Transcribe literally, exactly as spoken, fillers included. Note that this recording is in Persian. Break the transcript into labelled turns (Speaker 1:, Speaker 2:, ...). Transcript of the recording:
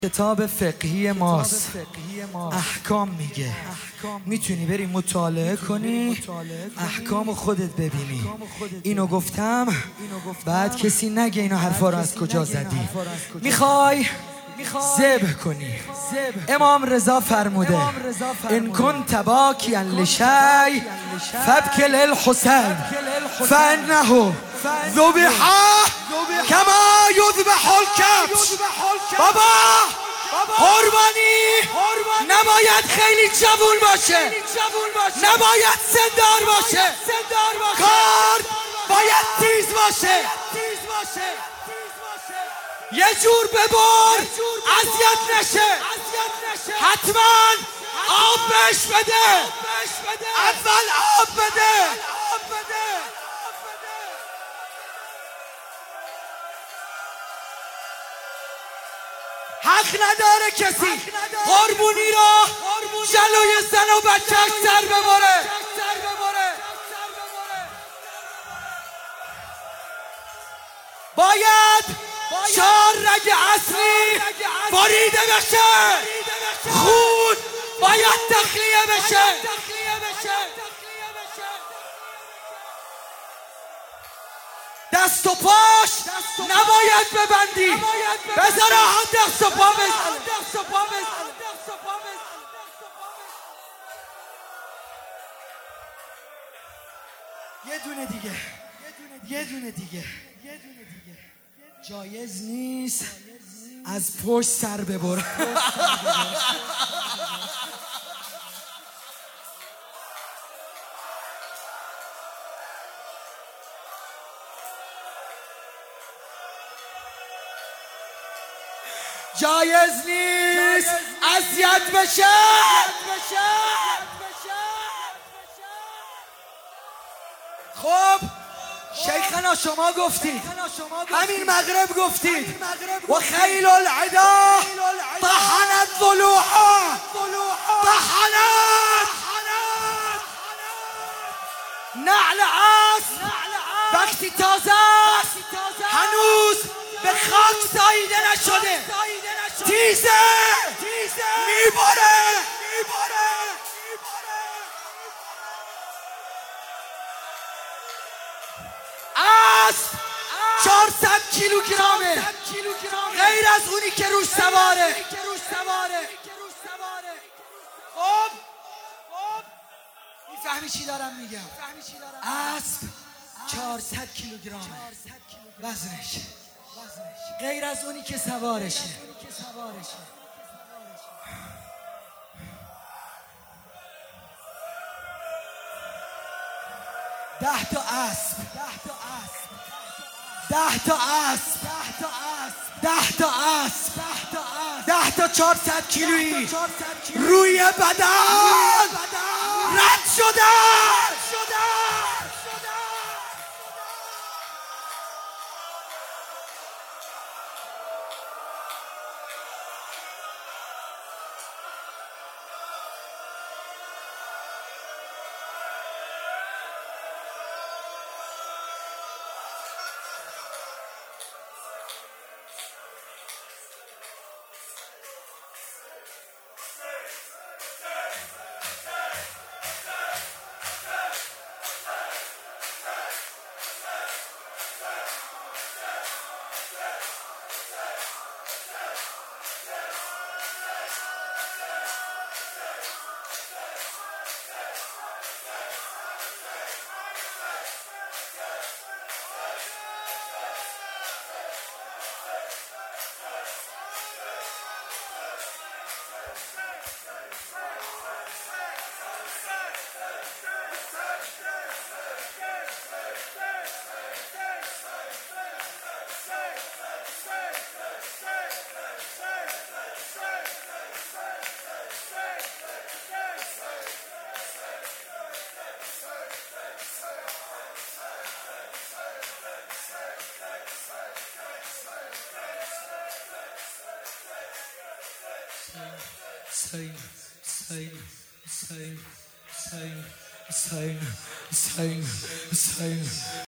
Speaker 1: کتاب فقهی ماست، احکام میگه، میتونی بری مطالعه کنی، احکام خودت ببینی. اینو گفتم بعد کسی نگه اینو حرفا رو از کجا زدی. میخوای ذبح کنی، امام رضا فرموده ان کنت باکیا لشیء فابکی للحسین فانه ذبح کما یذبح الکبش. بابا قربانی نباید خیلی جوون باشه، نباید سندار باشه، کار باید تیز باشه. یه جور ببر اذیت نشه، حتما آب بهش بده، اول آب بده. حق نداره کسی قربونی را جلوی زن و بچه‌اش سر ببره. باید چهار رگ اصلی بریده بشه، خون باید تخلیه بشه. دست و پاش نباید ببندی، بذار هم دست و پا بزن. یه دونه دیگه، یه دونه دیگه. جایز نیست از پشت سر ببر. جایز نیست اذیت بشه. خب شیخنا شما گفتید، همین مغرب گفتید و خیل العدا طحنت ضلوعها، طحنت نعل اسب وقتی تازه هنوز به خاک ساییده نشده، تیزه میباره. اسب چهارصد کیلوگرامه، غیر از اونی که روش سواره. خب میفهمی چی دارم میگم؟ اسب چهارصد کیلوگرامه وزنش، غیر از اونی که سوارشه. ده تا اسب، ده تا اسب، ده تا اسب، ده تا چهارصد کیلویی روی بدن رد شدن. Same, same, same, same, same, same, same, same.